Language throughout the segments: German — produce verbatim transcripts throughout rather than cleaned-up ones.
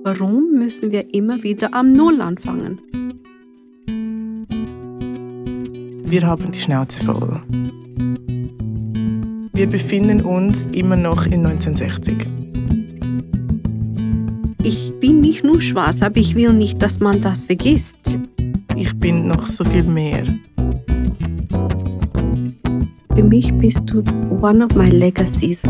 Warum müssen wir immer wieder am Null anfangen? Wir haben die Schnauze voll. Wir befinden uns immer noch in neunzehnhundertsechzig. Ich bin nicht nur schwarz, aber ich will nicht, dass man das vergisst. Ich bin noch so viel mehr. Für mich bist du one of my legacies.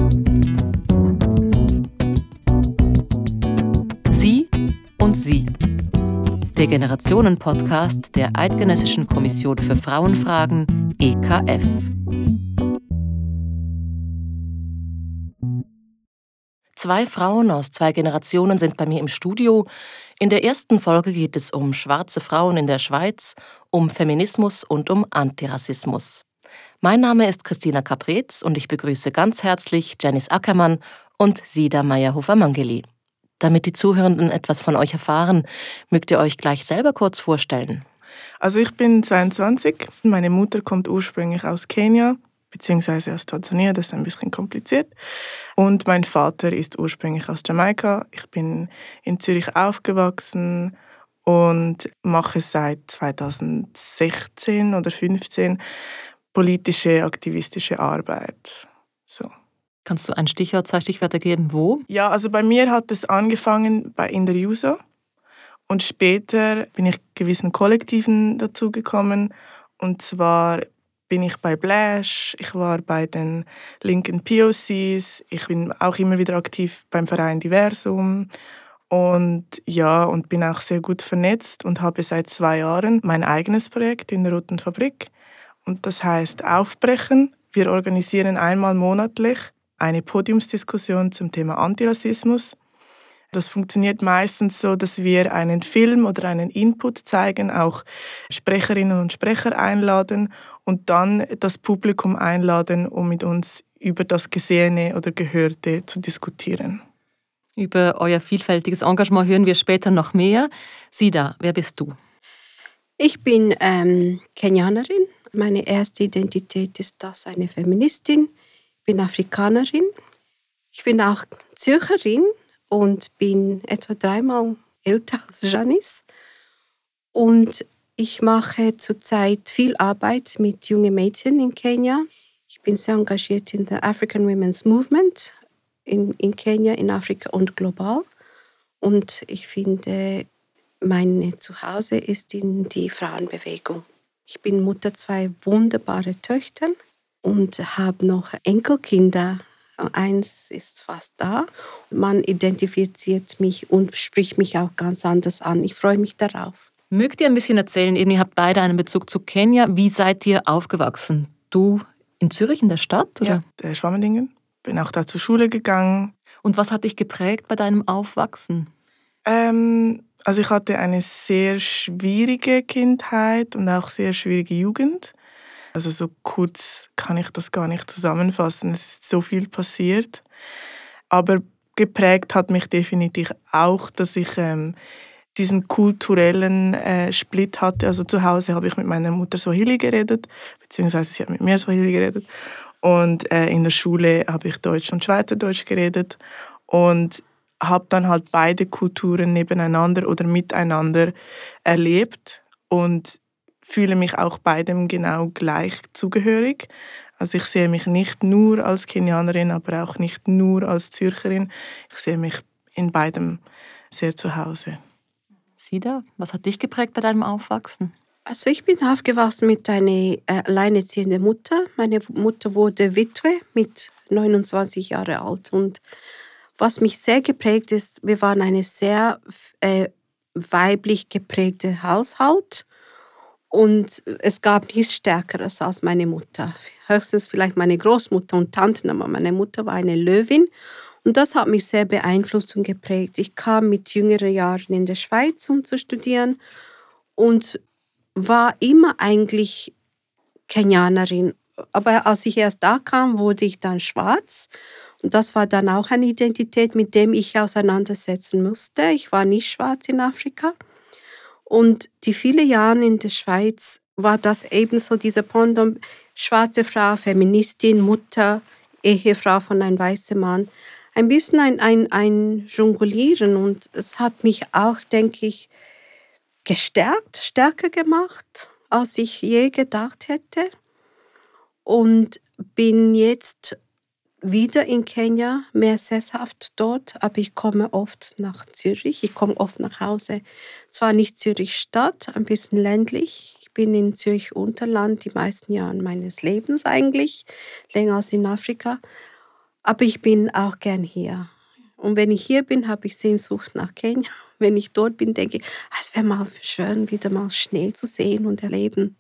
Sie und Sie. Der Generationen-Podcast der Eidgenössischen Kommission für Frauenfragen E K F. Zwei Frauen aus zwei Generationen sind bei mir im Studio. In der ersten Folge geht es um schwarze Frauen in der Schweiz, um Feminismus und um Antirassismus. Mein Name ist Christina Capretz und ich begrüße ganz herzlich Janice Ackermann und Sida Meyerhofer-Mangeli. Damit die Zuhörenden etwas von euch erfahren, mögt ihr euch gleich selber kurz vorstellen. Also ich bin zweiundzwanzig. Meine Mutter kommt ursprünglich aus Kenia, beziehungsweise aus Tansania, das ist ein bisschen kompliziert. Und mein Vater ist ursprünglich aus Jamaika. Ich bin in Zürich aufgewachsen und mache seit zweitausendsechzehn oder zweitausendfünfzehn politische, aktivistische Arbeit. So. Kannst du ein Stichwort, zwei Stichwörter geben? Wo? Ja, also bei mir hat es angefangen bei In der Juso und später bin ich gewissen Kollektiven dazugekommen. Und zwar bin ich bei Blash, ich war bei den linken P O Cs, ich bin auch immer wieder aktiv beim Verein Diversum und ja, und bin auch sehr gut vernetzt und habe seit zwei Jahren mein eigenes Projekt in der Roten Fabrik. Und das heißt Aufbrechen. Wir organisieren einmal monatlich eine Podiumsdiskussion zum Thema Antirassismus. Das funktioniert meistens so, dass wir einen Film oder einen Input zeigen, auch Sprecherinnen und Sprecher einladen und dann das Publikum einladen, um mit uns über das Gesehene oder Gehörte zu diskutieren. Über euer vielfältiges Engagement hören wir später noch mehr. Sida, wer bist du? Ich bin ähm, Kenianerin. Meine erste Identität ist das eine Feministin. Ich bin Afrikanerin. Ich bin auch Zürcherin und bin etwa dreimal älter als Janice. Und ich mache zurzeit viel Arbeit mit jungen Mädchen in Kenia. Ich bin sehr engagiert in der African Women's Movement in, in Kenia, in Afrika und global. Und ich finde, mein Zuhause ist in die Frauenbewegung. Ich bin Mutter zwei wunderbare Töchter und habe noch Enkelkinder. Eins ist fast da. Man identifiziert mich und spricht mich auch ganz anders an. Ich freue mich darauf. Mögt ihr ein bisschen erzählen, eben, ihr habt beide einen Bezug zu Kenia. Wie seid ihr aufgewachsen? Du in Zürich, in der Stadt? Oder? Ja, der Schwammendingen. Bin auch da zur Schule gegangen. Und was hat dich geprägt bei deinem Aufwachsen? Ähm, also ich hatte eine sehr schwierige Kindheit und auch sehr schwierige Jugend. Also so kurz kann ich das gar nicht zusammenfassen. Es ist so viel passiert. Aber geprägt hat mich definitiv auch, dass ich ähm, diesen kulturellen äh, Split hatte. Also zu Hause habe ich mit meiner Mutter Swahili geredet, beziehungsweise sie hat mit mir Swahili geredet. Und äh, in der Schule habe ich Deutsch und Schweizerdeutsch geredet. Und habe dann halt beide Kulturen nebeneinander oder miteinander erlebt und fühle mich auch beidem genau gleich zugehörig. Also ich sehe mich nicht nur als Kenianerin, aber auch nicht nur als Zürcherin. Ich sehe mich in beidem sehr zu Hause. Sida, was hat dich geprägt bei deinem Aufwachsen? Also ich bin aufgewachsen mit einer äh, alleinerziehenden Mutter. Meine Mutter wurde Witwe mit neunundzwanzig Jahren alt. Und was mich sehr geprägt ist, wir waren eine sehr äh, weiblich geprägte Haushalt. Und es gab nichts Stärkeres als meine Mutter. Höchstens vielleicht meine Großmutter und Tanten, aber meine Mutter war eine Löwin. Und das hat mich sehr beeinflusst und geprägt. Ich kam mit jüngeren Jahren in der Schweiz, um zu studieren und war immer eigentlich Kenianerin. Aber als ich erst da kam, wurde ich dann schwarz. Und das war dann auch eine Identität, mit der ich auseinandersetzen musste. Ich war nicht schwarz in Afrika. Und die vielen Jahre in der Schweiz war das ebenso dieser Pendant, schwarze Frau, Feministin, Mutter, Ehefrau von einem weißen Mann. ein bisschen ein, ein, ein Jonglieren und es hat mich auch, denke ich, gestärkt, stärker gemacht, als ich je gedacht hätte. Und bin jetzt wieder in Kenia, mehr sesshaft dort, aber ich komme oft nach Zürich. Ich komme oft nach Hause. Zwar nicht Zürich Stadt, ein bisschen ländlich. Ich bin in Zürich Unterland die meisten Jahre meines Lebens eigentlich, länger als in Afrika. Aber ich bin auch gern hier. Und wenn ich hier bin, habe ich Sehnsucht nach Kenia. Wenn ich dort bin, denke ich, ah, es wäre mal schön, wieder mal Schnee zu sehen und erleben.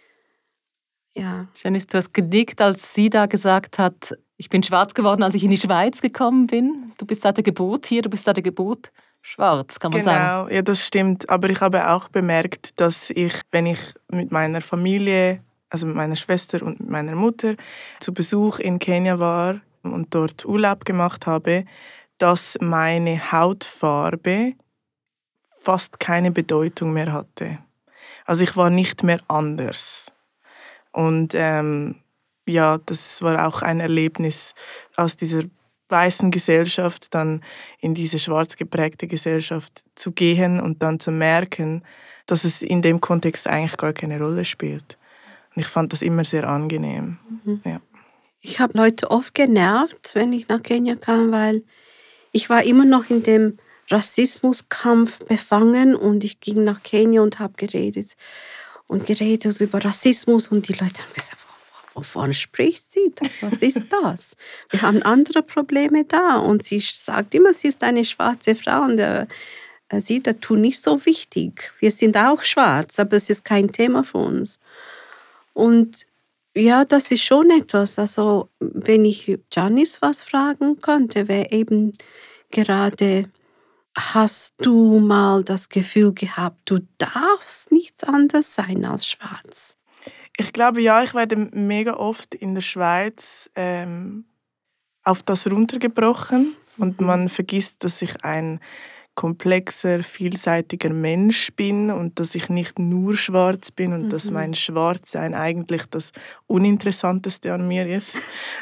Ja. Janice, du hast genickt, als sie da gesagt hat, ich bin schwarz geworden, als ich in die Schweiz gekommen bin. Du bist seit der Geburt hier, du bist seit der Geburt schwarz, kann man genau, sagen. Genau, ja, das stimmt. Aber ich habe auch bemerkt, dass ich, wenn ich mit meiner Familie, also mit meiner Schwester und mit meiner Mutter, zu Besuch in Kenia war und dort Urlaub gemacht habe, dass meine Hautfarbe fast keine Bedeutung mehr hatte. Also ich war nicht mehr anders. Und ähm, ja, das war auch ein Erlebnis, aus dieser weißen Gesellschaft dann in diese schwarz geprägte Gesellschaft zu gehen und dann zu merken, dass es in dem Kontext eigentlich gar keine Rolle spielt. Und ich fand das immer sehr angenehm. Mhm. Ja. Ich habe Leute oft genervt, wenn ich nach Kenia kam, weil ich war immer noch in dem Rassismuskampf befangen und ich ging nach Kenia und habe geredet und geredet über Rassismus und die Leute haben gesagt, wovon spricht sie? Das, was ist das? Wir haben andere Probleme da und sie sagt immer, sie ist eine schwarze Frau und äh, sie, das tut nicht so wichtig. Wir sind auch schwarz, aber es ist kein Thema für uns. Und ja, das ist schon etwas. Also, wenn ich Janice was fragen könnte, wäre eben gerade, hast du mal das Gefühl gehabt, du darfst nichts anderes sein als schwarz? Ich glaube, ja, ich werde mega oft in der Schweiz ähm, auf das runtergebrochen und man vergisst, dass ich ein komplexer, vielseitiger Mensch bin und dass ich nicht nur schwarz bin und mhm. dass mein Schwarzsein eigentlich das Uninteressanteste an mir ist.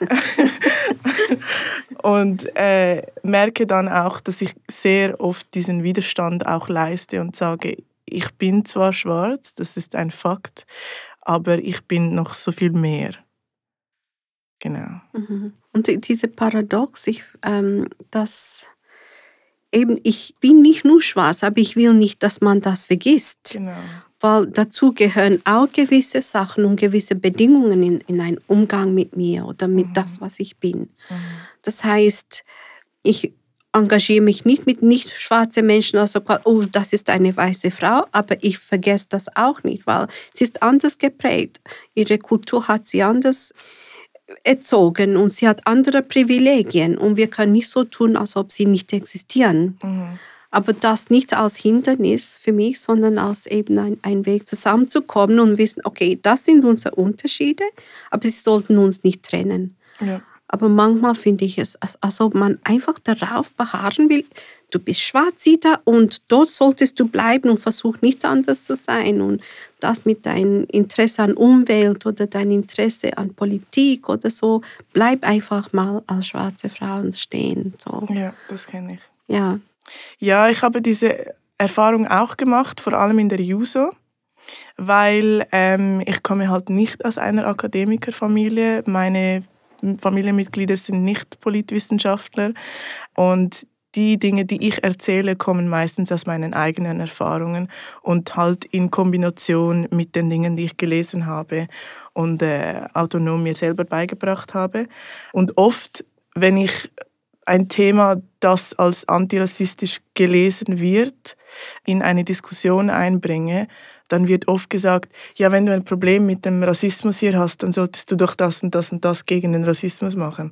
Und äh, merke dann auch, dass ich sehr oft diesen Widerstand auch leiste und sage, ich bin zwar schwarz, das ist ein Fakt, aber ich bin noch so viel mehr. Genau. Mhm. Und diese Paradox, ich, ähm, dass eben, ich bin nicht nur schwarz, aber ich will nicht, dass man das vergisst. Genau. Weil dazu gehören auch gewisse Sachen und gewisse Bedingungen in, in einen Umgang mit mir oder mit mhm. das, was ich bin. Mhm. Das heißt, ich engagiere mich nicht mit nicht schwarzen Menschen, also oh, das ist eine weiße Frau, aber ich vergesse das auch nicht, weil sie ist anders geprägt. Ihre Kultur hat sie anders erzogen und sie hat andere Privilegien und wir können nicht so tun, als ob sie nicht existieren. Mhm. Aber das nicht als Hindernis für mich, sondern als eben ein, ein Weg zusammenzukommen und wissen, okay, das sind unsere Unterschiede, aber sie sollten uns nicht trennen. Ja. Aber manchmal finde ich es, als ob man einfach darauf beharren will, du bist Schwarzsieder und dort solltest du bleiben und versuch nichts anderes zu sein. Und das mit deinem Interesse an Umwelt oder dein Interesse an Politik oder so, bleib einfach mal als schwarze Frau stehen. So. Ja, das kenne ich. Ja. Ja, ich habe diese Erfahrung auch gemacht, vor allem in der Juso, weil ähm, ich komme halt nicht aus einer Akademikerfamilie. Meine Familienmitglieder sind nicht Politwissenschaftler und die Dinge, die ich erzähle, kommen meistens aus meinen eigenen Erfahrungen und halt in Kombination mit den Dingen, die ich gelesen habe und äh, autonom mir selber beigebracht habe. Und oft, wenn ich ein Thema, das als antirassistisch gelesen wird, in eine Diskussion einbringe, dann wird oft gesagt, ja, wenn du ein Problem mit dem Rassismus hier hast, dann solltest du doch das und das und das gegen den Rassismus machen.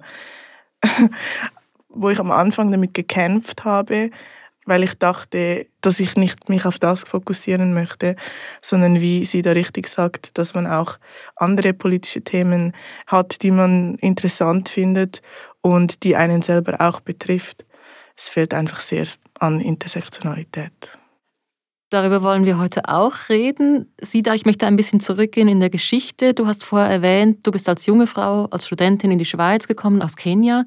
Wo ich am Anfang damit gekämpft habe, weil ich dachte, dass ich nicht mich auf das fokussieren möchte, sondern wie sie da richtig sagt, dass man auch andere politische Themen hat, die man interessant findet und die einen selber auch betrifft. Es fehlt einfach sehr an Intersektionalität. Darüber wollen wir heute auch reden. Sida, ich möchte ein bisschen zurückgehen in der Geschichte. Du hast vorher erwähnt, du bist als junge Frau, als Studentin in die Schweiz gekommen, aus Kenia.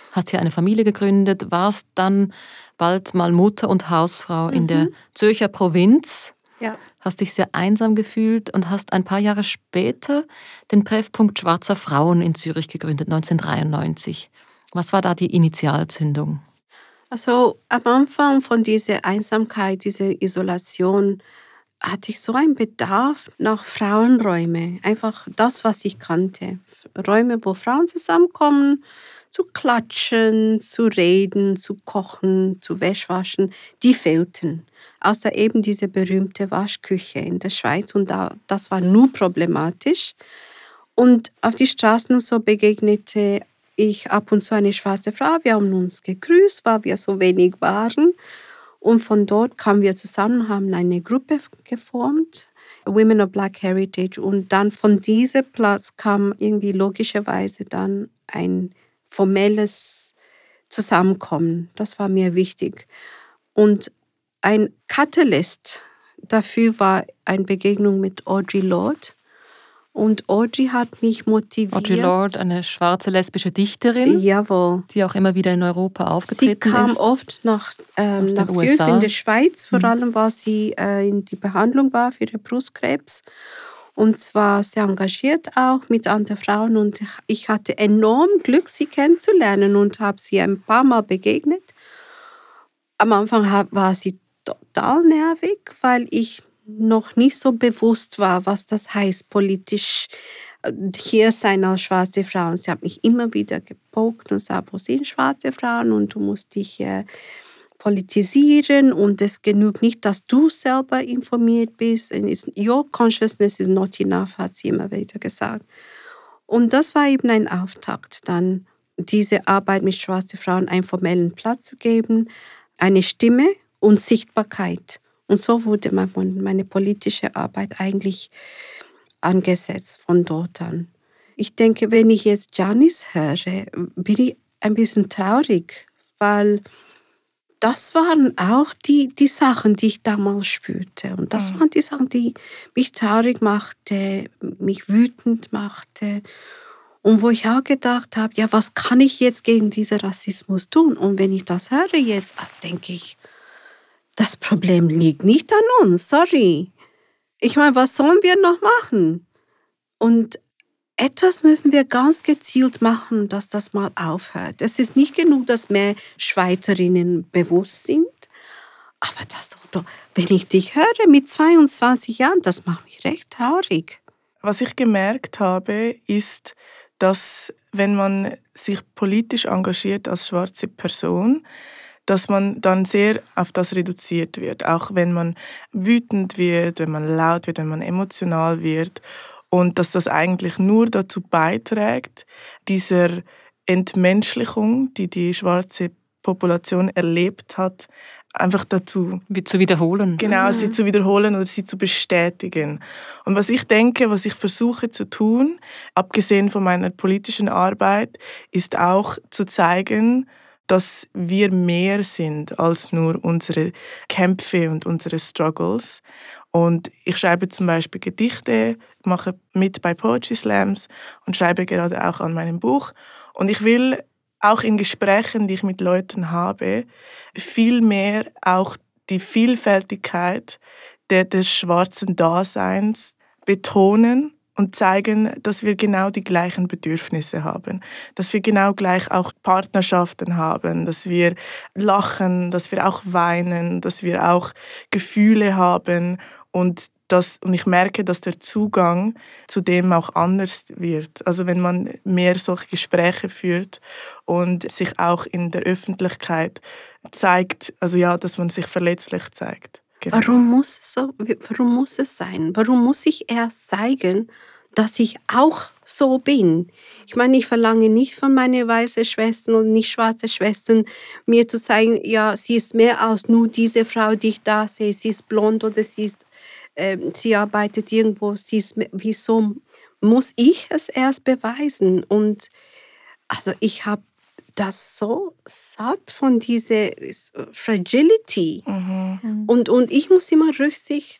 hast hier eine Familie gegründet, warst dann bald mal Mutter und Hausfrau mhm. in der Zürcher Provinz. Ja. Hast dich sehr einsam gefühlt und hast ein paar Jahre später den Treffpunkt Schwarzer Frauen in Zürich gegründet, neunzehnhundertdreiundneunzig. Was war da die Initialzündung? Also am Anfang von dieser Einsamkeit, dieser Isolation, hatte ich so einen Bedarf nach Frauenräumen. Einfach das, was ich kannte. Räume, wo Frauen zusammenkommen, zu klatschen, zu reden, zu kochen, zu Wäschwaschen, die fehlten. Außer eben diese berühmte Waschküche in der Schweiz. Und da, das war nur problematisch. Und auf die Straßen und so begegnete ich ab und zu eine schwarze Frau. Wir haben uns gegrüßt, weil wir so wenig waren. Und von dort kamen wir zusammen, haben eine Gruppe geformt, Women of Black Heritage. Und dann von diesem Platz kam irgendwie logischerweise dann ein formelles Zusammenkommen. Das war mir wichtig. Und ein Katalyst dafür war eine Begegnung mit Audre Lorde. Und Audre hat mich motiviert. Audre Lorde, eine schwarze lesbische Dichterin, Jawohl. Die auch immer wieder in Europa aufgetreten ist. Sie kam ist. oft nach, ähm, nach Zürich, in der Schweiz, vor allem, mhm. weil sie äh, in die Behandlung war für den Brustkrebs. Und zwar sehr engagiert auch mit anderen Frauen. Und ich hatte enorm Glück, sie kennenzulernen und habe sie ein paar Mal begegnet. Am Anfang war sie total nervig, weil ich noch nicht so bewusst war, was das heißt, politisch hier sein als schwarze Frauen. Sie hat mich immer wieder gepokt und gesagt, wo sind schwarze Frauen und du musst dich äh, politisieren und es genügt nicht, dass du selber informiert bist. Your consciousness is not enough, hat sie immer wieder gesagt. Und das war eben ein Auftakt, dann diese Arbeit mit schwarzen Frauen einen formellen Platz zu geben, eine Stimme und Sichtbarkeit. Und so wurde meine politische Arbeit eigentlich angesetzt von dort an. Ich denke, wenn ich jetzt Janice höre, bin ich ein bisschen traurig, weil das waren auch die, die Sachen, die ich damals spürte. Und das mhm. waren die Sachen, die mich traurig machte, mich wütend machte. Und wo ich auch gedacht habe, ja, was kann ich jetzt gegen diesen Rassismus tun? Und wenn ich das höre jetzt, denke ich, das Problem liegt nicht an uns, sorry. Ich meine, was sollen wir noch machen? Und etwas müssen wir ganz gezielt machen, dass das mal aufhört. Es ist nicht genug, dass mehr Schweizerinnen bewusst sind. Aber das, wenn ich dich höre mit zweiundzwanzig Jahren, das macht mich recht traurig. Was ich gemerkt habe, ist, dass wenn man sich politisch engagiert als schwarze Person, dass man dann sehr auf das reduziert wird. Auch wenn man wütend wird, wenn man laut wird, wenn man emotional wird. Und dass das eigentlich nur dazu beiträgt, dieser Entmenschlichung, die die schwarze Population erlebt hat, einfach dazu wie zu wiederholen. Genau, mhm. sie zu wiederholen oder sie zu bestätigen. Und was ich denke, was ich versuche zu tun, abgesehen von meiner politischen Arbeit, ist auch zu zeigen, dass wir mehr sind als nur unsere Kämpfe und unsere Struggles. Und ich schreibe zum Beispiel Gedichte, mache mit bei Poetry Slams und schreibe gerade auch an meinem Buch. Und ich will auch in Gesprächen, die ich mit Leuten habe, viel mehr auch die Vielfältigkeit des schwarzen Daseins betonen und zeigen, dass wir genau die gleichen Bedürfnisse haben, dass wir genau gleich auch Partnerschaften haben, dass wir lachen, dass wir auch weinen, dass wir auch Gefühle haben und das, und ich merke, dass der Zugang zu dem auch anders wird. Also wenn man mehr solche Gespräche führt und sich auch in der Öffentlichkeit zeigt, also ja, dass man sich verletzlich zeigt. Genau. Warum muss es so, warum muss es sein? Warum muss ich erst zeigen, dass ich auch so bin? Ich meine, ich verlange nicht von meinen weißen Schwestern und nicht schwarze Schwestern, mir zu zeigen, ja, sie ist mehr als nur diese Frau, die ich da sehe. Sie ist blond oder sie ist, äh, sie arbeitet irgendwo. Sie ist, wieso muss ich es erst beweisen? Und also ich habe das so satt von dieser Fragility. Mhm. Und, und ich muss immer Rücksicht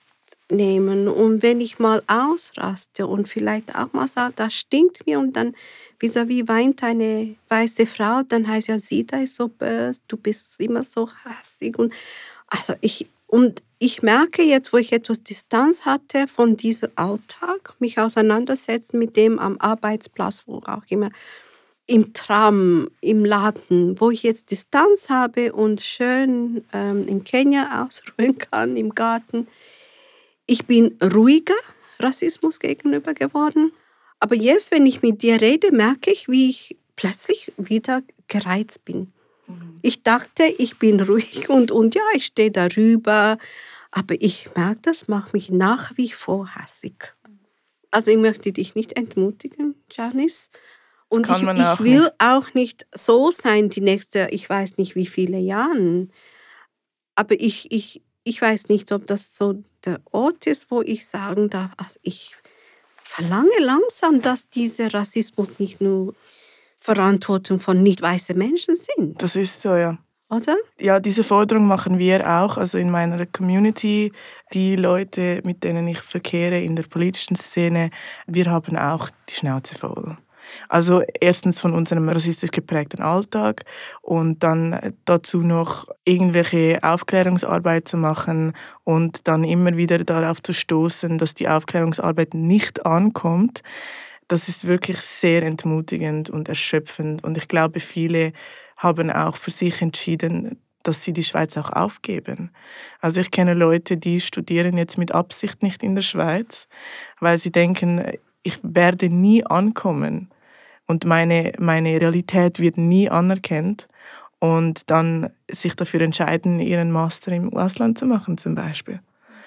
nehmen. Und wenn ich mal ausraste und vielleicht auch mal sage, das stinkt mir und dann vis-à-vis weint eine weiße Frau, dann heißt ja, sie da ist so böse, du bist immer so hassig. Und also ich, und ich merke jetzt, wo ich etwas Distanz hatte von diesem Alltag, mich auseinandersetzen mit dem am Arbeitsplatz, wo auch immer, im Tram, im Laden, wo ich jetzt Distanz habe und schön ähm, in Kenia ausruhen kann, im Garten. Ich bin ruhiger Rassismus gegenüber geworden. Aber jetzt, wenn ich mit dir rede, merke ich, wie ich plötzlich wieder gereizt bin. Mhm. Ich dachte, ich bin ruhig und, und ja, ich stehe darüber. Aber ich merke, das macht mich nach wie vor hassig. Also ich möchte dich nicht entmutigen, Janice. Und ich, ich will nicht. auch nicht so sein, die nächste, ich weiß nicht wie viele Jahre. Aber ich, ich, ich weiß nicht, ob das so der Ort ist, wo ich sagen darf, also ich verlange langsam, dass dieser Rassismus nicht nur Verantwortung von nicht weißen Menschen sind. Das ist so, ja. Oder? Ja, diese Forderung machen wir auch, also in meiner Community, die Leute, mit denen ich verkehre in der politischen Szene, wir haben auch die Schnauze voll. Also erstens von unserem rassistisch geprägten Alltag und dann dazu noch irgendwelche Aufklärungsarbeit zu machen und dann immer wieder darauf zu stoßen, dass die Aufklärungsarbeit nicht ankommt. Das ist wirklich sehr entmutigend und erschöpfend und ich glaube, viele haben auch für sich entschieden, dass sie die Schweiz auch aufgeben. Also ich kenne Leute, die studieren jetzt mit Absicht nicht in der Schweiz, weil sie denken, ich werde nie ankommen und meine, meine Realität wird nie anerkannt und dann sich dafür entscheiden, ihren Master im Ausland zu machen zum Beispiel.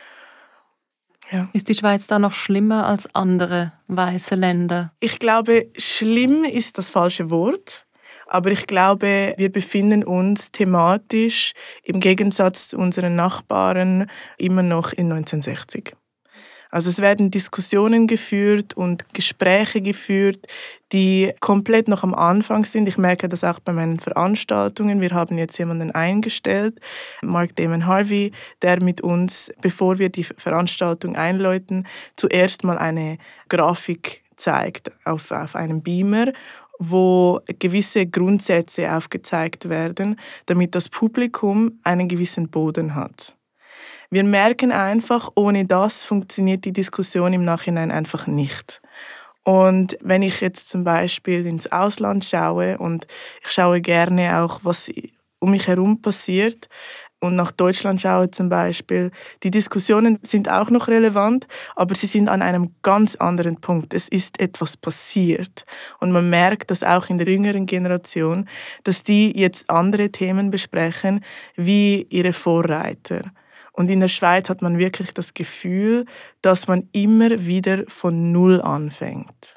Ja. Ist die Schweiz da noch schlimmer als andere weiße Länder? Ich glaube, schlimm ist das falsche Wort. Aber ich glaube, wir befinden uns thematisch im Gegensatz zu unseren Nachbarn immer noch in neunzehnhundertsechzig. Also es werden Diskussionen geführt und Gespräche geführt, die komplett noch am Anfang sind. Ich merke das auch bei meinen Veranstaltungen. Wir haben jetzt jemanden eingestellt, Mark Damon Harvey, der mit uns, bevor wir die Veranstaltung einläuten, zuerst mal eine Grafik zeigt auf, auf einem Beamer, wo gewisse Grundsätze aufgezeigt werden, damit das Publikum einen gewissen Boden hat. Wir merken einfach, ohne das funktioniert die Diskussion im Nachhinein einfach nicht. Und wenn ich jetzt zum Beispiel ins Ausland schaue und ich schaue gerne auch, was um mich herum passiert, und nach Deutschland schaue zum Beispiel, die Diskussionen sind auch noch relevant, aber sie sind an einem ganz anderen Punkt. Es ist etwas passiert. Und man merkt das auch in der jüngeren Generation, dass die jetzt andere Themen besprechen, wie ihre Vorreiter. Und in der Schweiz hat man wirklich das Gefühl, dass man immer wieder von Null anfängt.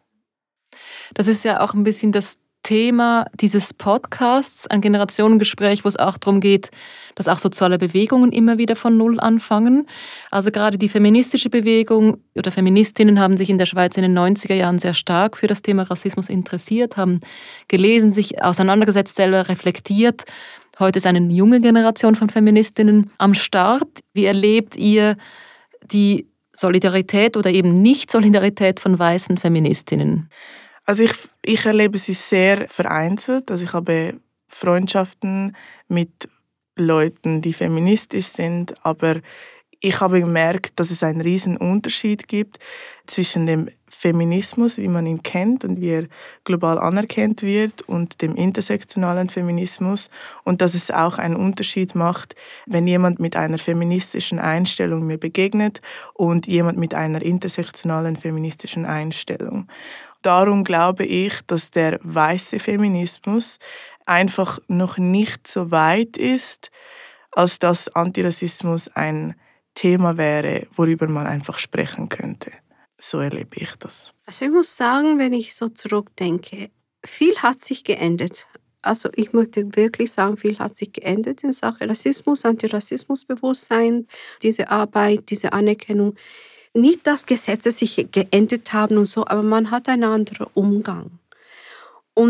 Das ist ja auch ein bisschen das Thema dieses Podcasts, ein Generationengespräch, wo es auch darum geht, dass auch soziale Bewegungen immer wieder von Null anfangen. Also gerade die feministische Bewegung oder Feministinnen haben sich in der Schweiz in den neunziger Jahren sehr stark für das Thema Rassismus interessiert, haben gelesen, sich auseinandergesetzt, selber reflektiert. Heute ist eine junge Generation von Feministinnen am Start. Wie erlebt ihr die Solidarität oder eben Nicht-Solidarität von weißen Feministinnen? Also ich, ich erlebe sie sehr vereinzelt. Also ich habe Freundschaften mit Leuten, die feministisch sind, aber ich habe gemerkt, dass es einen riesen Unterschied gibt zwischen dem Feminismus, wie man ihn kennt und wie er global anerkannt wird, und dem intersektionalen Feminismus, und dass es auch einen Unterschied macht, wenn jemand mit einer feministischen Einstellung mir begegnet und jemand mit einer intersektionalen feministischen Einstellung. Darum glaube ich, dass der weiße Feminismus einfach noch nicht so weit ist, als dass Antirassismus ein Thema wäre, worüber man einfach sprechen könnte. So erlebe ich das. Also ich muss sagen, wenn ich so zurückdenke, viel hat sich geändert. Also ich möchte wirklich sagen, viel hat sich geändert in Sachen Rassismus, Antirassismusbewusstsein, diese Arbeit, diese Anerkennung. Nicht, dass Gesetze sich geändert haben und so, aber man hat einen anderen Umgang. Und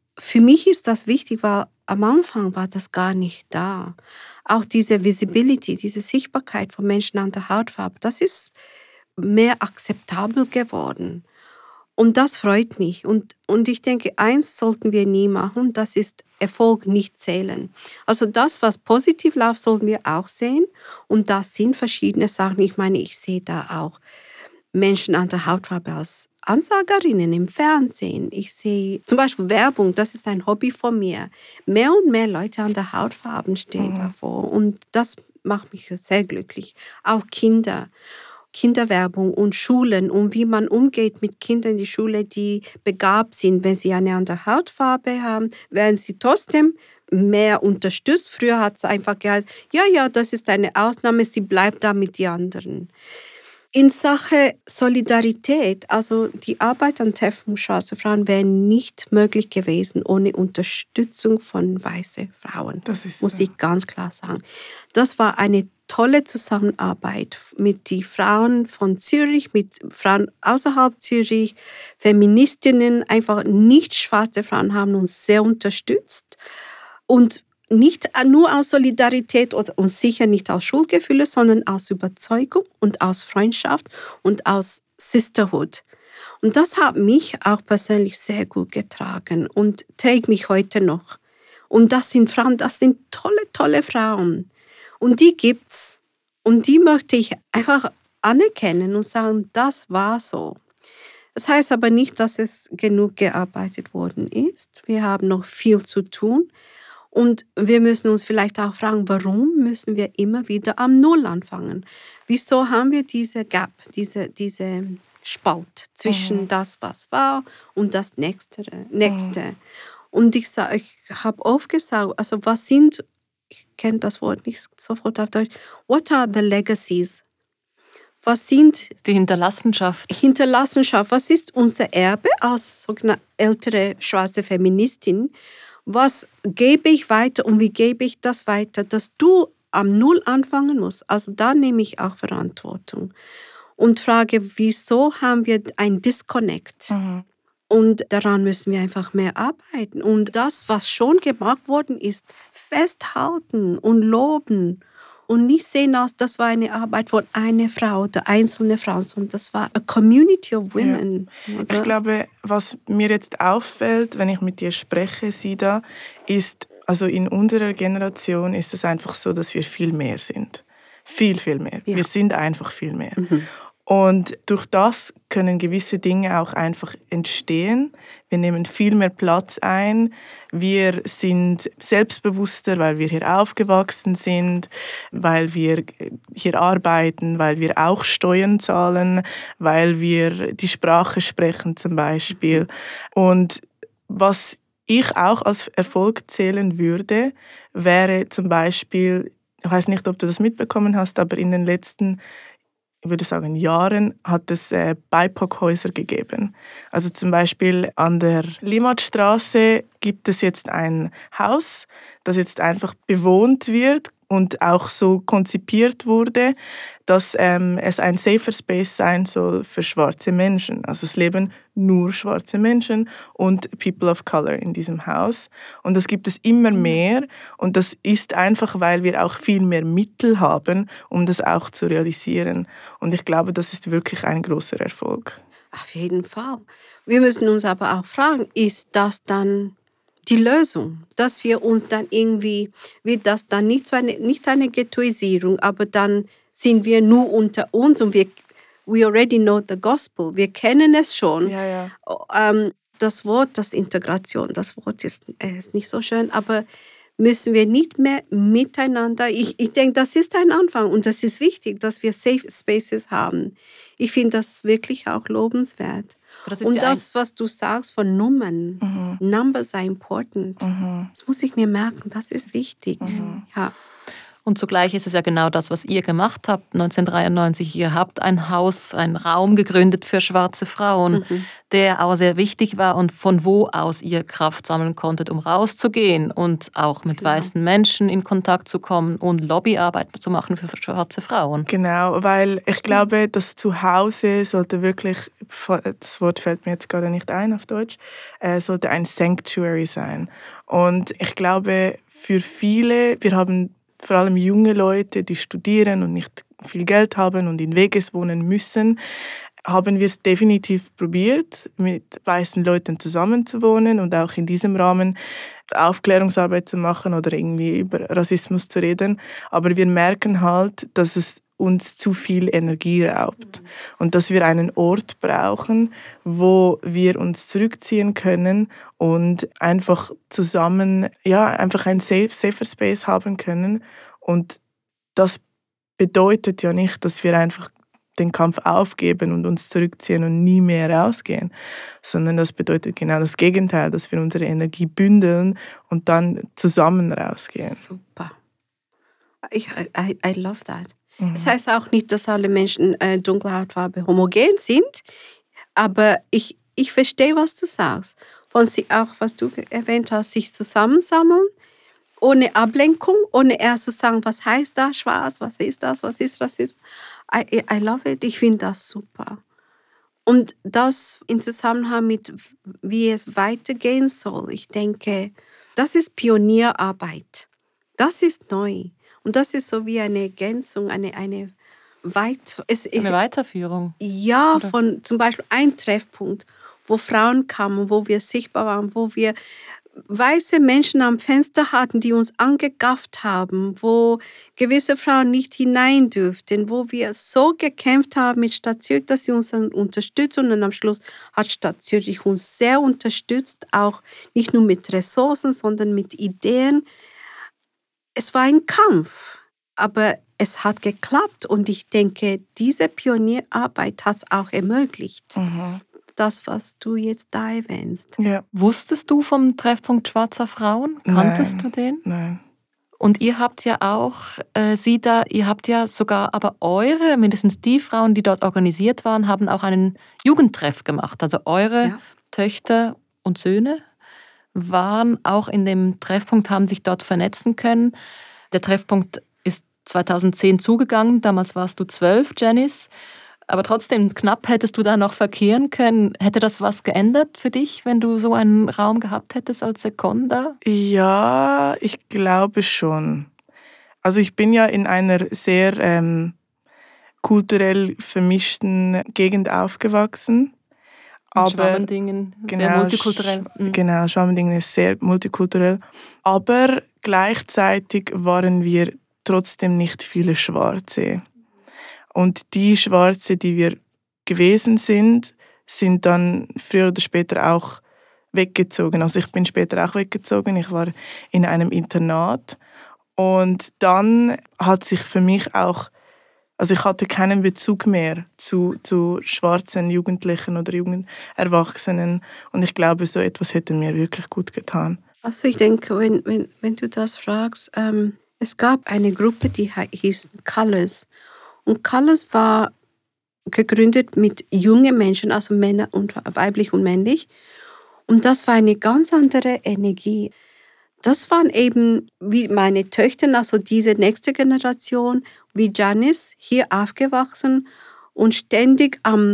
für mich ist das wichtig, weil am Anfang war das gar nicht da. Auch diese Visibility, diese Sichtbarkeit von Menschen an der Hautfarbe, das ist mehr akzeptabel geworden. Und das freut mich. Und, und ich denke, eins sollten wir nie machen, das ist Erfolg nicht zählen. Also das, was positiv läuft, sollten wir auch sehen. Und das sind verschiedene Sachen. Ich meine, ich sehe da auch Menschen an der Hautfarbe als Ansagerinnen im Fernsehen. Ich sehe zum Beispiel Werbung, das ist ein Hobby von mir. Mehr und mehr Leute an der Hautfarbe stehen Mhm. davor. Und das macht mich sehr glücklich. Auch Kinder. Kinderwerbung und Schulen und wie man umgeht mit Kindern in die Schule, die begabt sind. Wenn sie eine andere Hautfarbe haben, werden sie trotzdem mehr unterstützt. Früher hat es einfach geheißen, ja, ja, das ist eine Ausnahme, sie bleibt da mit den anderen. In Sache Solidarität, also die Arbeit an Treffen schwarzer Frauen wäre nicht möglich gewesen ohne Unterstützung von weißen Frauen. Das ist muss so. ich ganz klar sagen. Das war eine tolle Zusammenarbeit mit den Frauen von Zürich, mit Frauen außerhalb Zürich, Feministinnen, einfach nicht schwarze Frauen haben uns sehr unterstützt und nicht nur aus Solidarität oder, und sicher nicht aus Schuldgefühle, sondern aus Überzeugung und aus Freundschaft und aus Sisterhood. Und das hat mich auch persönlich sehr gut getragen und trägt mich heute noch. Und das sind Frauen, das sind tolle, tolle Frauen. Und die gibt's. Und die möchte ich einfach anerkennen und sagen, das war so. Das heißt aber nicht, dass es genug gearbeitet worden ist. Wir haben noch viel zu tun. Und wir müssen uns vielleicht auch fragen, warum müssen wir immer wieder am Null anfangen? Wieso haben wir diese Gap, diese, diese Spalt zwischen Mhm. das, was war und das Nächste? Nächste? Mhm. Und ich, sag, ich habe oft gesagt, also was sind, ich kenne das Wort nicht sofort auf Deutsch, what are the legacies? Was sind Die Hinterlassenschaft. Hinterlassenschaft? Was ist unser Erbe als sogenannte ältere schwarze Feministin? Was gebe ich weiter und wie gebe ich das weiter, dass du am Null anfangen musst? Also da nehme ich auch Verantwortung und frage, wieso haben wir ein Disconnect? Mhm. Und daran müssen wir einfach mehr arbeiten. Und das, was schon gemacht worden ist, festhalten und loben und nicht sehen, als das war eine Arbeit von einer Frau oder einzelne Frau, sondern das war a community of women. Ja. Oder? Ich glaube, was mir jetzt auffällt, wenn ich mit dir spreche, Sida, ist, also in unserer Generation ist es einfach so, dass wir viel mehr sind. Viel, viel mehr. Ja. Wir sind einfach viel mehr. Mhm. Und durch das können gewisse Dinge auch einfach entstehen. Wir nehmen viel mehr Platz ein. Wir sind selbstbewusster, weil wir hier aufgewachsen sind, weil wir hier arbeiten, weil wir auch Steuern zahlen, weil wir die Sprache sprechen zum Beispiel. Und was ich auch als Erfolg zählen würde, wäre zum Beispiel, ich weiß nicht, ob du das mitbekommen hast, aber in den letzten ich würde sagen, Jahren hat es äh, B I P O C-Häuser gegeben. Also zum Beispiel an der Limmatstraße gibt es jetzt ein Haus, das jetzt einfach bewohnt wird und auch so konzipiert wurde, dass ähm, es ein safer Space sein soll für schwarze Menschen. Also es leben nur schwarze Menschen und People of Color in diesem Haus. Und das gibt es immer mehr. Und das ist einfach, weil wir auch viel mehr Mittel haben, um das auch zu realisieren. Und ich glaube, das ist wirklich ein großer Erfolg. Auf jeden Fall. Wir müssen uns aber auch fragen, ist das dann die Lösung? Dass wir uns dann irgendwie, wird das dann nicht so eine, nicht eine Ghettoisierung, aber dann sind wir nur unter uns und wir, we already know the gospel. Wir kennen es schon. Ja, ja. Ähm, das Wort, das Integration, das Wort ist, ist nicht so schön, aber müssen wir nicht mehr miteinander, ich, ich denke, das ist ein Anfang und das ist wichtig, dass wir Safe Spaces haben. Ich finde das wirklich auch lobenswert. Das ist Und ja das, was du sagst von Nummern, Mhm. Numbers are important. Mhm. Das muss ich mir merken, das ist wichtig. Mhm. Ja. Und zugleich ist es ja genau das, was ihr gemacht habt, neunzehnhundertdreiundneunzig. Ihr habt ein Haus, einen Raum gegründet für schwarze Frauen, mhm. der auch sehr wichtig war und von wo aus ihr Kraft sammeln konntet, um rauszugehen und auch mit genau. weißen Menschen in Kontakt zu kommen und Lobbyarbeit zu machen für schwarze Frauen. Genau, weil ich glaube, das Zuhause sollte wirklich, das Wort fällt mir jetzt gerade nicht ein auf Deutsch, äh, sollte ein Sanctuary sein. Und ich glaube, für viele, wir haben vor allem junge Leute, die studieren und nicht viel Geld haben und in Vegas wohnen müssen, haben wir es definitiv probiert, mit weißen Leuten zusammenzuwohnen und auch in diesem Rahmen Aufklärungsarbeit zu machen oder irgendwie über Rassismus zu reden. Aber wir merken halt, dass es uns zu viel Energie raubt und dass wir einen Ort brauchen, wo wir uns zurückziehen können und einfach zusammen, ja, einfach ein safe, safer Space haben können. Und das bedeutet ja nicht, dass wir einfach den Kampf aufgeben und uns zurückziehen und nie mehr rausgehen, sondern das bedeutet genau das Gegenteil, dass wir unsere Energie bündeln und dann zusammen rausgehen. Super. Ich, I, I love that. Mhm. Das heißt auch nicht, dass alle Menschen äh, dunkle Hautfarbe homogen sind, aber ich, ich verstehe, was du sagst. Von sich auch, was du erwähnt hast, sich zusammensammeln, ohne Ablenkung, ohne erst zu sagen, was heißt das, schwarz, was ist das, was ist Rassismus. I, I love it, ich finde das super. Und das in Zusammenhang mit, wie es weitergehen soll, ich denke, das ist Pionierarbeit. Das ist neu. Und das ist so wie eine Ergänzung, eine, eine, Weit es, eine Weiterführung. Ja, oder? Von zum Beispiel ein Treffpunkt, wo Frauen kamen, wo wir sichtbar waren, wo wir weiße Menschen am Fenster hatten, die uns angegafft haben, wo gewisse Frauen nicht hinein dürften, wo wir so gekämpft haben mit Stadt Zürich, dass sie uns dann unterstützen. Und am Schluss hat Stadt Zürich uns sehr unterstützt, auch nicht nur mit Ressourcen, sondern mit Ideen. Es war ein Kampf, aber es hat geklappt und ich denke, diese Pionierarbeit hat es auch ermöglicht. Mhm. Das, was du jetzt da erwähnst. Ja. Wusstest du vom Treffpunkt Schwarzer Frauen? Kanntest Nein. du den? Nein. Und ihr habt ja auch, äh, sie da, ihr habt ja sogar, aber eure, mindestens die Frauen, die dort organisiert waren, haben auch einen Jugendtreff gemacht. Also eure ja. Töchter und Söhne waren auch in dem Treffpunkt, haben sich dort vernetzen können. Der Treffpunkt ist zweitausendzehn zugegangen, damals warst du zwölf, Janice. Aber trotzdem, knapp hättest du da noch verkehren können. Hätte das was geändert für dich, wenn du so einen Raum gehabt hättest als Seconda? Ja, ich glaube schon. Also ich bin ja in einer sehr ähm, kulturell vermischten Gegend aufgewachsen. Aber Schwabendingen, genau, sehr multikulturell. Mhm. Genau, Schwabendingen ist sehr multikulturell. Aber gleichzeitig waren wir trotzdem nicht viele Schwarze. Und die Schwarze, die wir gewesen sind, sind dann früher oder später auch weggezogen. Also ich bin später auch weggezogen. Ich war in einem Internat. Und dann hat sich für mich auch, also ich hatte keinen Bezug mehr zu, zu schwarzen Jugendlichen oder jungen Erwachsenen. Und ich glaube, so etwas hätte mir wirklich gut getan. Also ich denke, wenn, wenn, wenn du das fragst, ähm, es gab eine Gruppe, die hieß Colors. Und Colors war gegründet mit jungen Menschen, also Männer und weiblich und männlich. Und das war eine ganz andere Energie. Das waren eben wie meine Töchter, also diese nächste Generation, wie Janice, hier aufgewachsen und ständig am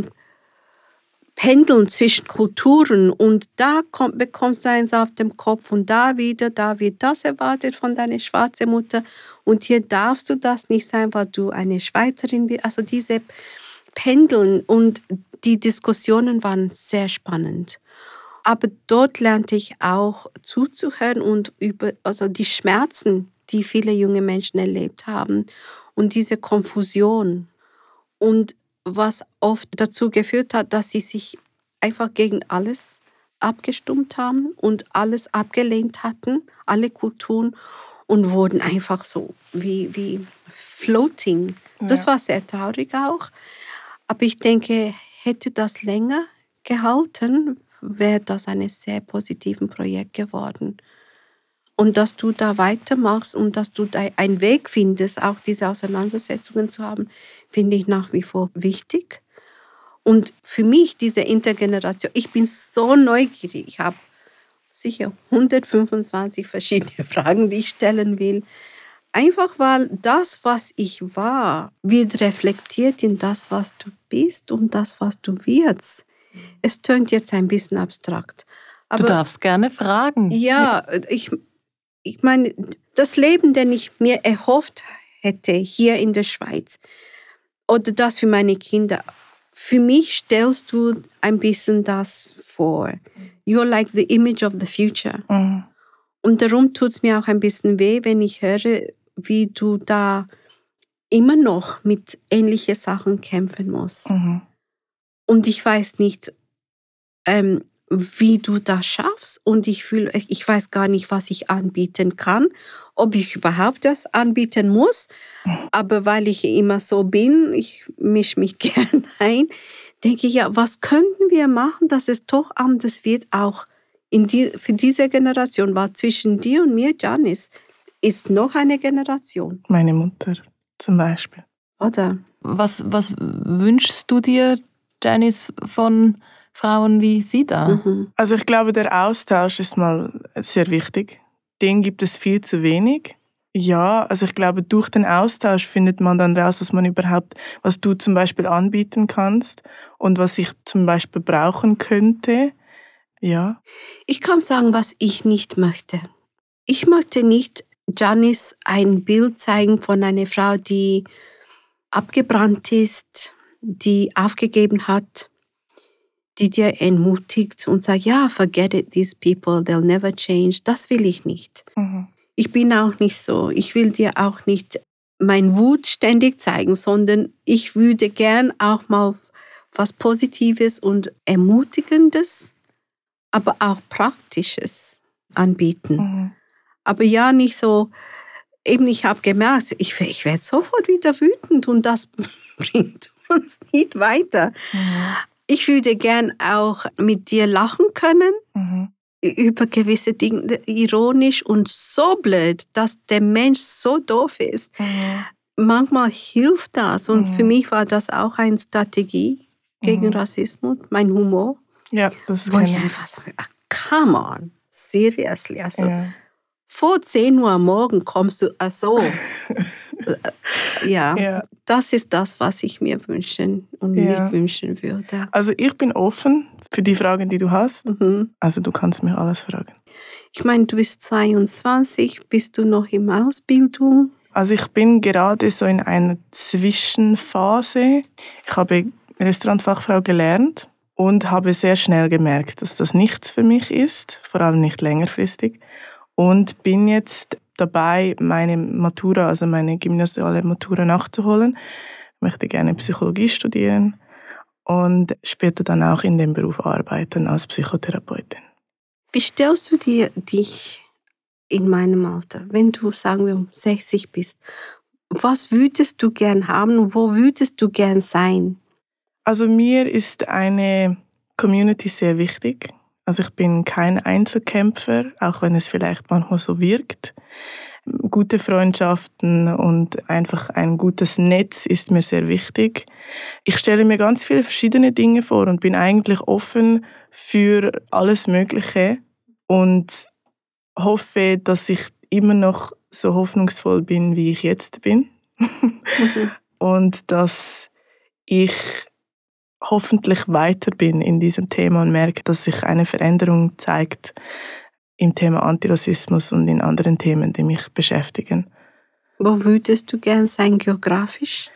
Pendeln zwischen Kulturen. Und da kommt, bekommst du eins auf dem Kopf und da wieder, da wird das erwartet von deiner schwarzen Mutter. Und hier darfst du das nicht sein, weil du eine Schweizerin bist. Also diese Pendeln und die Diskussionen waren sehr spannend. Aber dort lernte ich auch zuzuhören und über also die Schmerzen, die viele junge Menschen erlebt haben und diese Konfusion. Und was oft dazu geführt hat, dass sie sich einfach gegen alles abgestimmt haben und alles abgelehnt hatten, alle Kulturen, und wurden einfach so wie, wie floating. Das ja. war sehr traurig auch. Aber ich denke, hätte das länger gehalten, wäre das ein sehr positives Projekt geworden. Und dass du da weitermachst und dass du da einen Weg findest, auch diese Auseinandersetzungen zu haben, finde ich nach wie vor wichtig. Und für mich, diese Intergeneration, ich bin so neugierig. Ich habe sicher hundertfünfundzwanzig verschiedene Fragen, die ich stellen will. Einfach weil das, was ich war, wird reflektiert in das, was du bist und das, was du wirst. Es tönt jetzt ein bisschen abstrakt. Aber du darfst gerne fragen. Ja, ich, ich meine, das Leben, das ich mir erhofft hätte hier in der Schweiz oder das für meine Kinder, für mich stellst du ein bisschen das vor. You're like the image of the future. Mhm. Und darum tut es mir auch ein bisschen weh, wenn ich höre, wie du da immer noch mit ähnlichen Sachen kämpfen musst. Mhm. Und ich weiß nicht, ähm, wie du das schaffst. Und ich fühle, ich weiß gar nicht, was ich anbieten kann, ob ich überhaupt das anbieten muss. Aber weil ich immer so bin, ich mische mich gern ein, denke ich, ja, was könnten wir machen, dass es doch anders wird, auch in die, für diese Generation, weil zwischen dir und mir, Janice, ist noch eine Generation. Meine Mutter zum Beispiel. Oder? Was, was wünschst du dir, Janice, von Frauen wie sie da? Mhm. Also ich glaube, der Austausch ist mal sehr wichtig. Den gibt es viel zu wenig. Ja, also ich glaube, durch den Austausch findet man dann raus, was man überhaupt, was du zum Beispiel anbieten kannst und was ich zum Beispiel brauchen könnte. Ja. Ich kann sagen, was ich nicht möchte. Ich möchte nicht Janice ein Bild zeigen von einer Frau, die abgebrannt ist, die aufgegeben hat, die dir entmutigt und sagt, ja, forget it, these people, they'll never change. Das will ich nicht. Mhm. Ich bin auch nicht so. Ich will dir auch nicht mein Wut ständig zeigen, sondern ich würde gern auch mal was Positives und Ermutigendes, aber auch Praktisches anbieten. Mhm. Aber ja, nicht so, eben ich habe gemerkt, ich, ich werde sofort wieder wütend und das bringt uns nicht weiter. Mhm. Ich würde gern auch mit dir lachen können, Mhm. über gewisse Dinge, ironisch und so blöd, dass der Mensch so doof ist. Mhm. Manchmal hilft das und Mhm. für mich war das auch eine Strategie gegen Mhm. Rassismus, mein Humor, Ja, das wo ich kenne ich. einfach sage, ah, come on, seriously, also Ja. vor zehn Uhr am Morgen kommst du, ach so. ja, Ja. das ist das, was ich mir wünschen und Ja. nicht wünschen würde. Also ich bin offen für die Fragen, die du hast. Mhm. Also du kannst mich alles fragen. Ich meine, du bist zweiundzwanzig, bist du noch in Ausbildung? Also ich bin gerade so in einer Zwischenphase. Ich habe Restaurantfachfrau gelernt und habe sehr schnell gemerkt, dass das nichts für mich ist, vor allem nicht längerfristig. Und bin jetzt dabei, meine Matura, also meine gymnasiale Matura nachzuholen. Ich möchte gerne Psychologie studieren und später dann auch in dem Beruf arbeiten als Psychotherapeutin. Wie stellst du dir dich in meinem Alter, wenn du, sagen wir, um sechzig bist? Was würdest du gern haben? Wo würdest du gern sein? Also mir ist eine Community sehr wichtig. Also ich bin kein Einzelkämpfer, auch wenn es vielleicht manchmal so wirkt. Gute Freundschaften und einfach ein gutes Netz ist mir sehr wichtig. Ich stelle mir ganz viele verschiedene Dinge vor und bin eigentlich offen für alles Mögliche und hoffe, dass ich immer noch so hoffnungsvoll bin, wie ich jetzt bin. Mhm. Und dass ich hoffentlich weiter bin in diesem Thema und merke, dass sich eine Veränderung zeigt im Thema Antirassismus und in anderen Themen, die mich beschäftigen. Wo würdest du gern sein geografisch?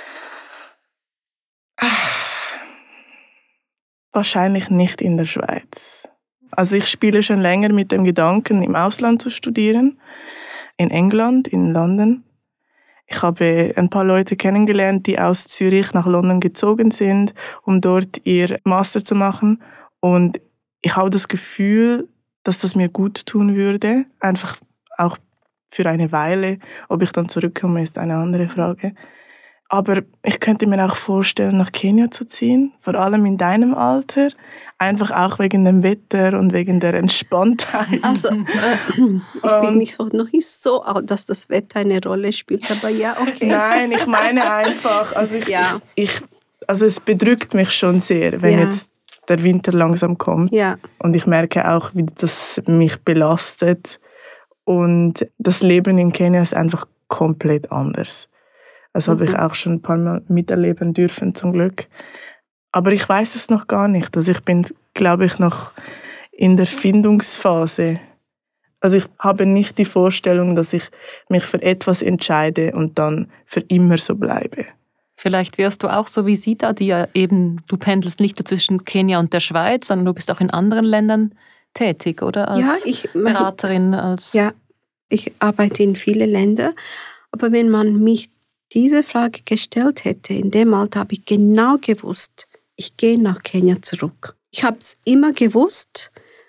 Wahrscheinlich nicht in der Schweiz. Also ich spiele schon länger mit dem Gedanken, im Ausland zu studieren. In England, in London. Ich habe ein paar Leute kennengelernt, die aus Zürich nach London gezogen sind, um dort ihr Master zu machen. Und ich habe das Gefühl, dass das mir gut tun würde. Einfach auch für eine Weile. Ob ich dann zurückkomme, ist eine andere Frage. Aber ich könnte mir auch vorstellen, nach Kenia zu ziehen, vor allem in deinem Alter. Einfach auch wegen dem Wetter und wegen der Entspanntheit. Also, äh, ich bin nicht so, noch nicht so alt, dass das Wetter eine Rolle spielt, aber ja, okay. Nein, ich meine einfach, also, ich, ja. ich, ich, also es bedrückt mich schon sehr, wenn ja. jetzt der Winter langsam kommt. Ja. Und ich merke auch, wie das mich belastet. Und das Leben in Kenia ist einfach komplett anders. Das mhm. habe ich auch schon ein paar Mal miterleben dürfen, zum Glück. Aber ich weiß es noch gar nicht. Also ich bin, glaube ich, noch in der Findungsphase. Also ich habe nicht die Vorstellung, dass ich mich für etwas entscheide und dann für immer so bleibe. Vielleicht wirst du auch so wie Sita, die ja eben, du pendelst nicht nur zwischen Kenia und der Schweiz, sondern du bist auch in anderen Ländern tätig, oder? Als ja, ich, Beraterin, als... Ja, ich arbeite in vielen Ländern. Aber wenn man mich diese Frage gestellt hätte, in dem Alter habe ich genau gewusst, ich gehe nach Kenia zurück. Ich habe es immer gewusst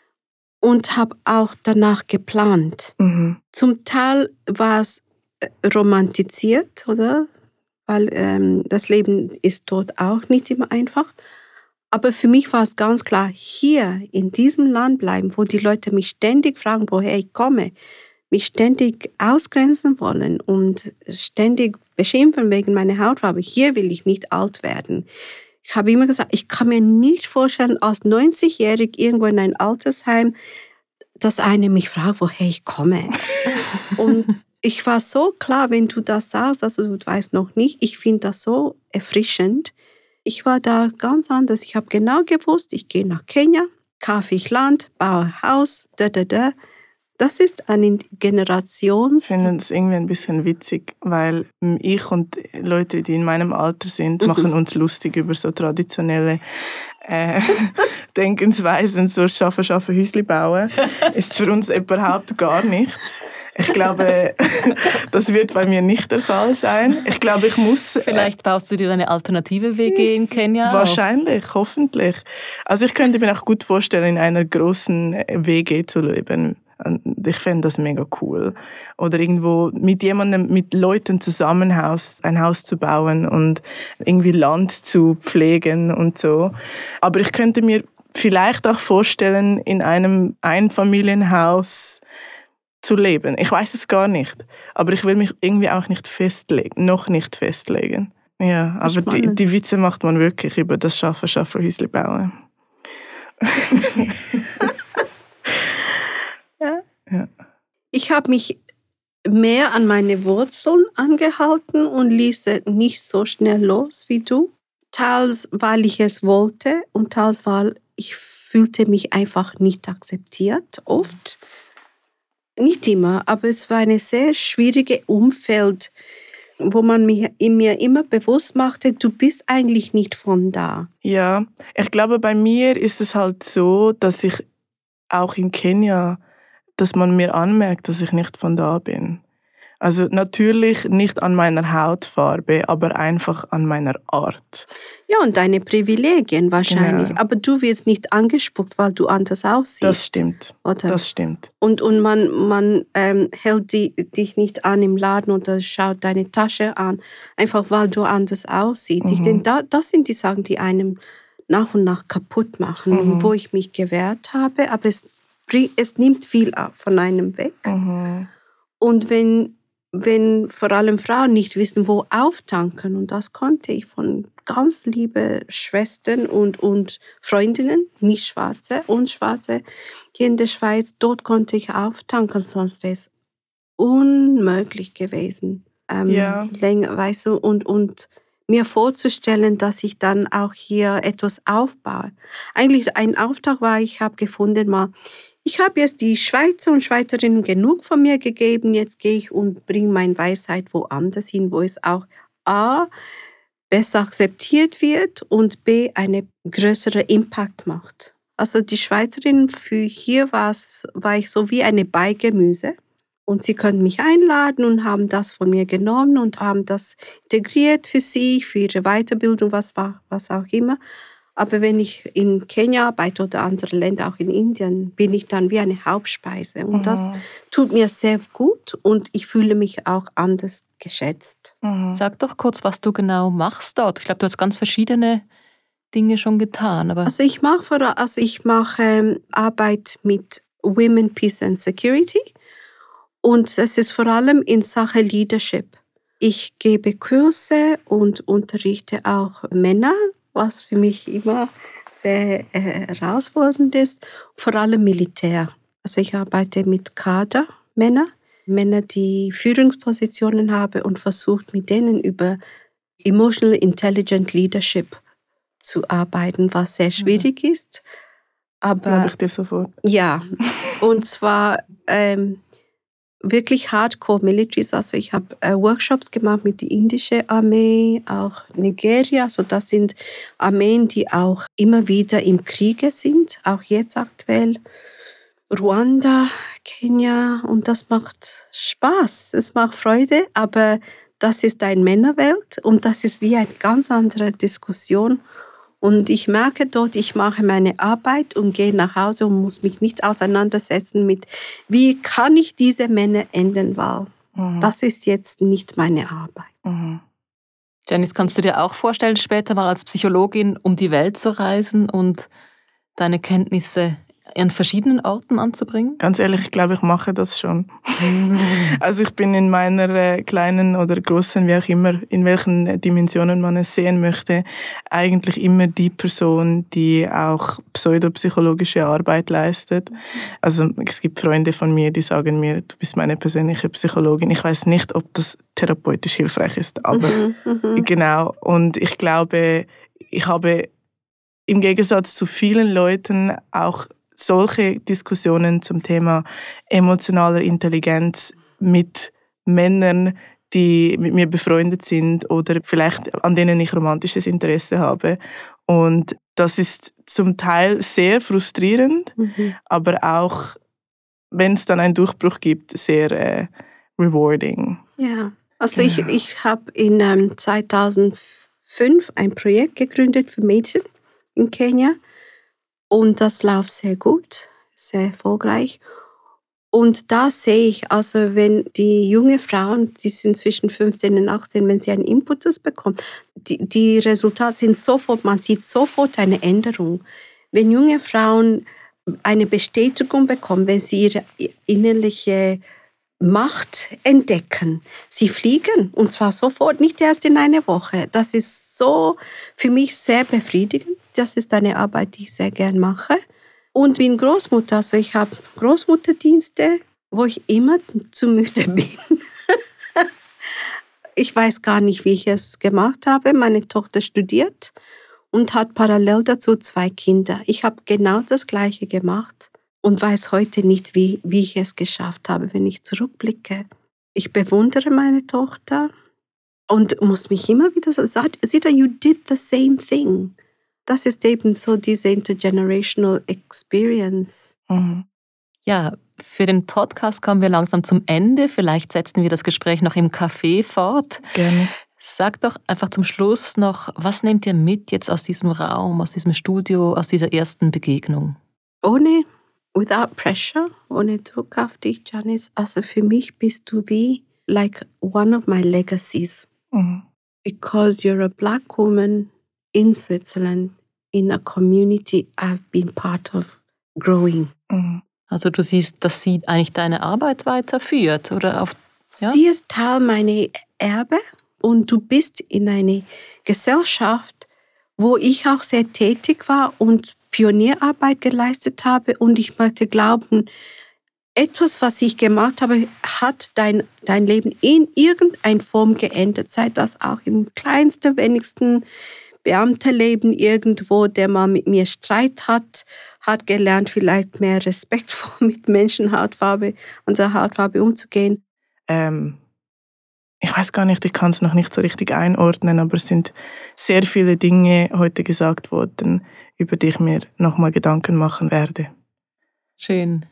und habe auch danach geplant. Mhm. Zum Teil war es romantisiert, oder? Weil ähm, das Leben ist dort auch nicht immer einfach. Aber für mich war es ganz klar, hier in diesem Land bleiben, wo die Leute mich ständig fragen, woher ich komme, mich ständig ausgrenzen wollen und ständig beschimpfen wegen meiner Hautfarbe. Hier will ich nicht alt werden. Ich habe immer gesagt, ich kann mir nicht vorstellen, als neunzigjährig irgendwo in ein Altersheim, dass einer mich fragt, woher ich komme. Und ich war so klar, wenn du das sagst, also du weißt noch nicht, ich finde das so erfrischend. Ich war da ganz anders. Ich habe genau gewusst, ich gehe nach Kenia, kaufe ich Land, baue Haus, da, da, da. Das ist eine Generations... Ich finde es irgendwie ein bisschen witzig, weil ich und Leute, die in meinem Alter sind, mhm. machen uns lustig über so traditionelle äh, Denkensweisen, so «Schaffen, schaffen, Häusli bauen». Ist für uns überhaupt gar nichts. Ich glaube, das wird bei mir nicht der Fall sein. Ich glaube, ich muss... Vielleicht baust du dir eine alternative W G in Kenia Wahrscheinlich, auf. Hoffentlich. Also ich könnte mir auch gut vorstellen, in einer großen W G zu leben. Ich fände das mega cool. Oder irgendwo mit jemandem, mit Leuten zusammen Haus, ein Haus zu bauen und irgendwie Land zu pflegen und so. Aber ich könnte mir vielleicht auch vorstellen, in einem Einfamilienhaus zu leben. Ich weiß es gar nicht. Aber ich will mich irgendwie auch nicht festlegen, noch nicht festlegen. Ja, aber die, die Witze macht man wirklich über das Schaffen, Schaffen, Häusli bauen. Ja. Ja. Ich habe mich mehr an meine Wurzeln angehalten und ließ nicht so schnell los wie du. Teils, weil ich es wollte und teils, weil ich fühlte mich einfach nicht akzeptiert, oft. Nicht immer, aber es war ein sehr schwieriges Umfeld, wo man mir, mir immer bewusst machte, du bist eigentlich nicht von da. Ja, ich glaube, bei mir ist es halt so, dass ich auch in Kenia, dass man mir anmerkt, dass ich nicht von da bin. Also natürlich nicht an meiner Hautfarbe, aber einfach an meiner Art. Ja, und deine Privilegien wahrscheinlich. Genau. Aber du wirst nicht angespuckt, weil du anders aussiehst. Das stimmt, oder? Das stimmt. Und, und man, man ähm, hält die, dich nicht an im Laden oder schaut deine Tasche an, einfach weil du anders aussiehst. Mhm. Ich denke, da, das sind die Sachen, die einem nach und nach kaputt machen, mhm. wo ich mich gewehrt habe. Aber es, es nimmt viel ab von einem weg. Mhm. Und wenn... wenn vor allem Frauen nicht wissen, wo auftanken. Und das konnte ich von ganz lieben Schwestern und, und Freundinnen, nicht Schwarze und Schwarze, hier in der Schweiz, dort konnte ich auftanken, sonst wäre es unmöglich gewesen. Ähm, ja. länger, weißt du, und, und mir vorzustellen, dass ich dann auch hier etwas aufbaue. Eigentlich ein Auftrag war, ich habe gefunden mal, ich habe jetzt die Schweizer und Schweizerinnen genug von mir gegeben, jetzt gehe ich und bringe meine Weisheit woanders hin, wo es auch A, besser akzeptiert wird und B, einen größeren Impact macht. Also die Schweizerinnen, für hier war's, war ich so wie eine Beigemüse und sie können mich einladen und haben das von mir genommen und haben das integriert für sie, für ihre Weiterbildung, was war, was auch immer. Aber wenn ich in Kenia arbeite oder andere Länder, auch in Indien, bin ich dann wie eine Hauptspeise. Und das Mhm. tut mir sehr gut und ich fühle mich auch anders geschätzt. Mhm. Sag doch kurz, was du genau machst dort. Ich glaube, du hast ganz verschiedene Dinge schon getan. Aber Also ich mache vor- also ich mache ähm, Arbeit mit Women, Peace and Security und es ist vor allem in Sache Leadership. Ich gebe Kurse und unterrichte auch Männer, was für mich immer sehr äh, herausfordernd ist, vor allem Militär. Also ich arbeite mit Kadermännern, Männer, die Führungspositionen haben und versucht mit denen über Emotional Intelligent Leadership zu arbeiten, was sehr schwierig ist. Glaube Aber ich dir sofort. ja, und zwar ähm, wirklich Hardcore Militaries. Also ich habe äh, Workshops gemacht mit der indischen Armee, auch Nigeria. Also das sind Armeen, die auch immer wieder im Kriege sind, auch jetzt aktuell. Ruanda, Kenia und das macht Spaß, es macht Freude, aber das ist eine Männerwelt und das ist wie eine ganz andere Diskussion. Und ich merke dort, ich mache meine Arbeit und gehe nach Hause und muss mich nicht auseinandersetzen mit, wie kann ich diese Männer ändern, weil Mhm. das ist jetzt nicht meine Arbeit. Mhm. Janice, kannst du dir auch vorstellen, später mal als Psychologin um die Welt zu reisen und deine Kenntnisse an verschiedenen Orten anzubringen? Ganz ehrlich, ich glaube, ich mache das schon. Also ich bin in meiner äh, kleinen oder großen, wie auch immer, in welchen Dimensionen man es sehen möchte, eigentlich immer die Person, die auch pseudopsychologische Arbeit leistet. Also es gibt Freunde von mir, die sagen mir, du bist meine persönliche Psychologin. Ich weiß nicht, ob das therapeutisch hilfreich ist, aber Mhm, mhm. genau. Und ich glaube, ich habe im Gegensatz zu vielen Leuten auch solche Diskussionen zum Thema emotionaler Intelligenz mit Männern, die mit mir befreundet sind oder vielleicht an denen ich romantisches Interesse habe. Und das ist zum Teil sehr frustrierend, Mhm. aber auch, wenn es dann einen Durchbruch gibt, sehr äh, rewarding. Ja, also ich, Genau. ich habe in ähm, zweitausendfünf ein Projekt gegründet für Mädchen in Kenia und das läuft sehr gut, sehr erfolgreich. Und da sehe ich, also wenn die junge Frauen, die sind zwischen fünfzehn und achtzehn, wenn sie einen Imputus bekommen, die, die Resultate sind sofort, man sieht sofort eine Änderung. Wenn junge Frauen eine Bestätigung bekommen, wenn sie ihre innerliche Macht entdecken. Sie fliegen und zwar sofort, nicht erst in einer Woche. Das ist so für mich sehr befriedigend. Das ist eine Arbeit, die ich sehr gern mache. Und wie eine Großmutter, also ich habe Großmutterdienste, wo ich immer zu müde bin. Ich weiß gar nicht, wie ich es gemacht habe. Meine Tochter studiert und hat parallel dazu zwei Kinder. Ich habe genau das Gleiche gemacht und weiß heute nicht, wie, wie ich es geschafft habe, wenn ich zurückblicke. Ich bewundere meine Tochter und muss mich immer wieder sagen, Sita, you did the same thing. Das ist eben so diese intergenerational experience. Mhm. Ja, für den Podcast kommen wir langsam zum Ende. Vielleicht setzen wir das Gespräch noch im Café fort. Gerne. Sag doch einfach zum Schluss noch, was nehmt ihr mit jetzt aus diesem Raum, aus diesem Studio, aus dieser ersten Begegnung? Ohne, without pressure, ohne Druck auf dich, Janice. Also für mich bist du wie like one of my legacies. Mhm. Because you're a black woman in Switzerland, in a community I've been part of growing. Mhm. Also du siehst, dass sie eigentlich deine Arbeit weiterführt, oder auf, ja? Sie ist Teil meiner Erbe und du bist in einer Gesellschaft, wo ich auch sehr tätig war und Pionierarbeit geleistet habe und ich möchte glauben, etwas, was ich gemacht habe, hat dein, dein Leben in irgendeiner Form geändert, sei das auch im kleinsten, wenigsten Beamterleben irgendwo, der mal mit mir Streit hat, hat gelernt, vielleicht mehr respektvoll mit Menschenhautfarbe, unserer Hautfarbe umzugehen. Ähm, ich weiß gar nicht, ich kann es noch nicht so richtig einordnen, aber es sind sehr viele Dinge heute gesagt worden, über die ich mir nochmal Gedanken machen werde. Schön.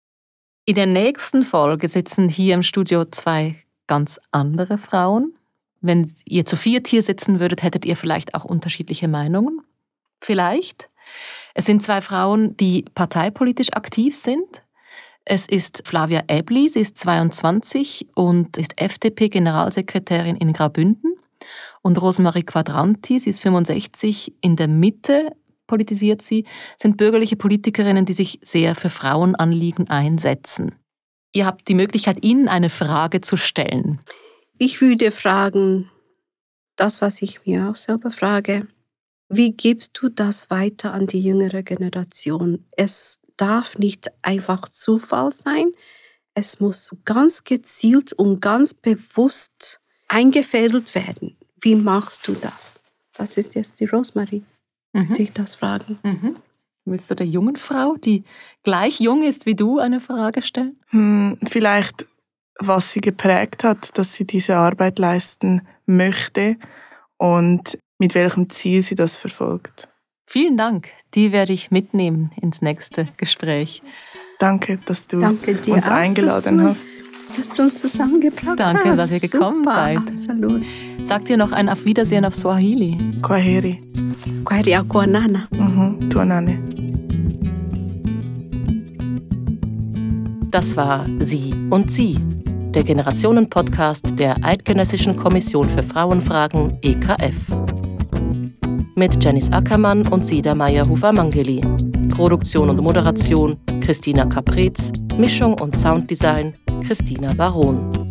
In der nächsten Folge sitzen hier im Studio zwei ganz andere Frauen. Wenn ihr zu viert hier sitzen würdet, hättet ihr vielleicht auch unterschiedliche Meinungen. Vielleicht. Es sind zwei Frauen, die parteipolitisch aktiv sind. Es ist Flavia Ebli, sie ist zweiundzwanzig und ist F D P-Generalsekretärin in Graubünden. Und Rosemarie Quadranti, sie ist fünfundsechzig, in der Mitte politisiert sie, sind bürgerliche Politikerinnen, die sich sehr für Frauenanliegen einsetzen. Ihr habt die Möglichkeit, ihnen eine Frage zu stellen. Ich würde fragen, das, was ich mir auch selber frage, wie gibst du das weiter an die jüngere Generation? Es darf nicht einfach Zufall sein. Es muss ganz gezielt und ganz bewusst eingefädelt werden. Wie machst du das? Das ist jetzt die Rosemarie, Mhm. die ich das fragen. Mhm. Willst du der jungen Frau, die gleich jung ist wie du, eine Frage stellen? Hm, vielleicht, was sie geprägt hat, dass sie diese Arbeit leisten möchte und mit welchem Ziel sie das verfolgt. Vielen Dank. Die werde ich mitnehmen ins nächste Gespräch. Danke, dass du Danke dir uns auch, eingeladen dass hast. du, dass du uns zusammengebracht Danke, hast. dass ihr gekommen Super, seid. Absolut. Sagt ihr noch ein Auf Wiedersehen auf Swahili? Kwaheri. Kwaheri ya kuonana. Mhm. Tuonane. Das war Sie und Sie, der Generationen-Podcast der Eidgenössischen Kommission für Frauenfragen E K F. Mit Janice Ackermann und Sida Meyer-Hufer-Mangeli. Produktion und Moderation Christina Caprez, Mischung und Sounddesign Christina Baron.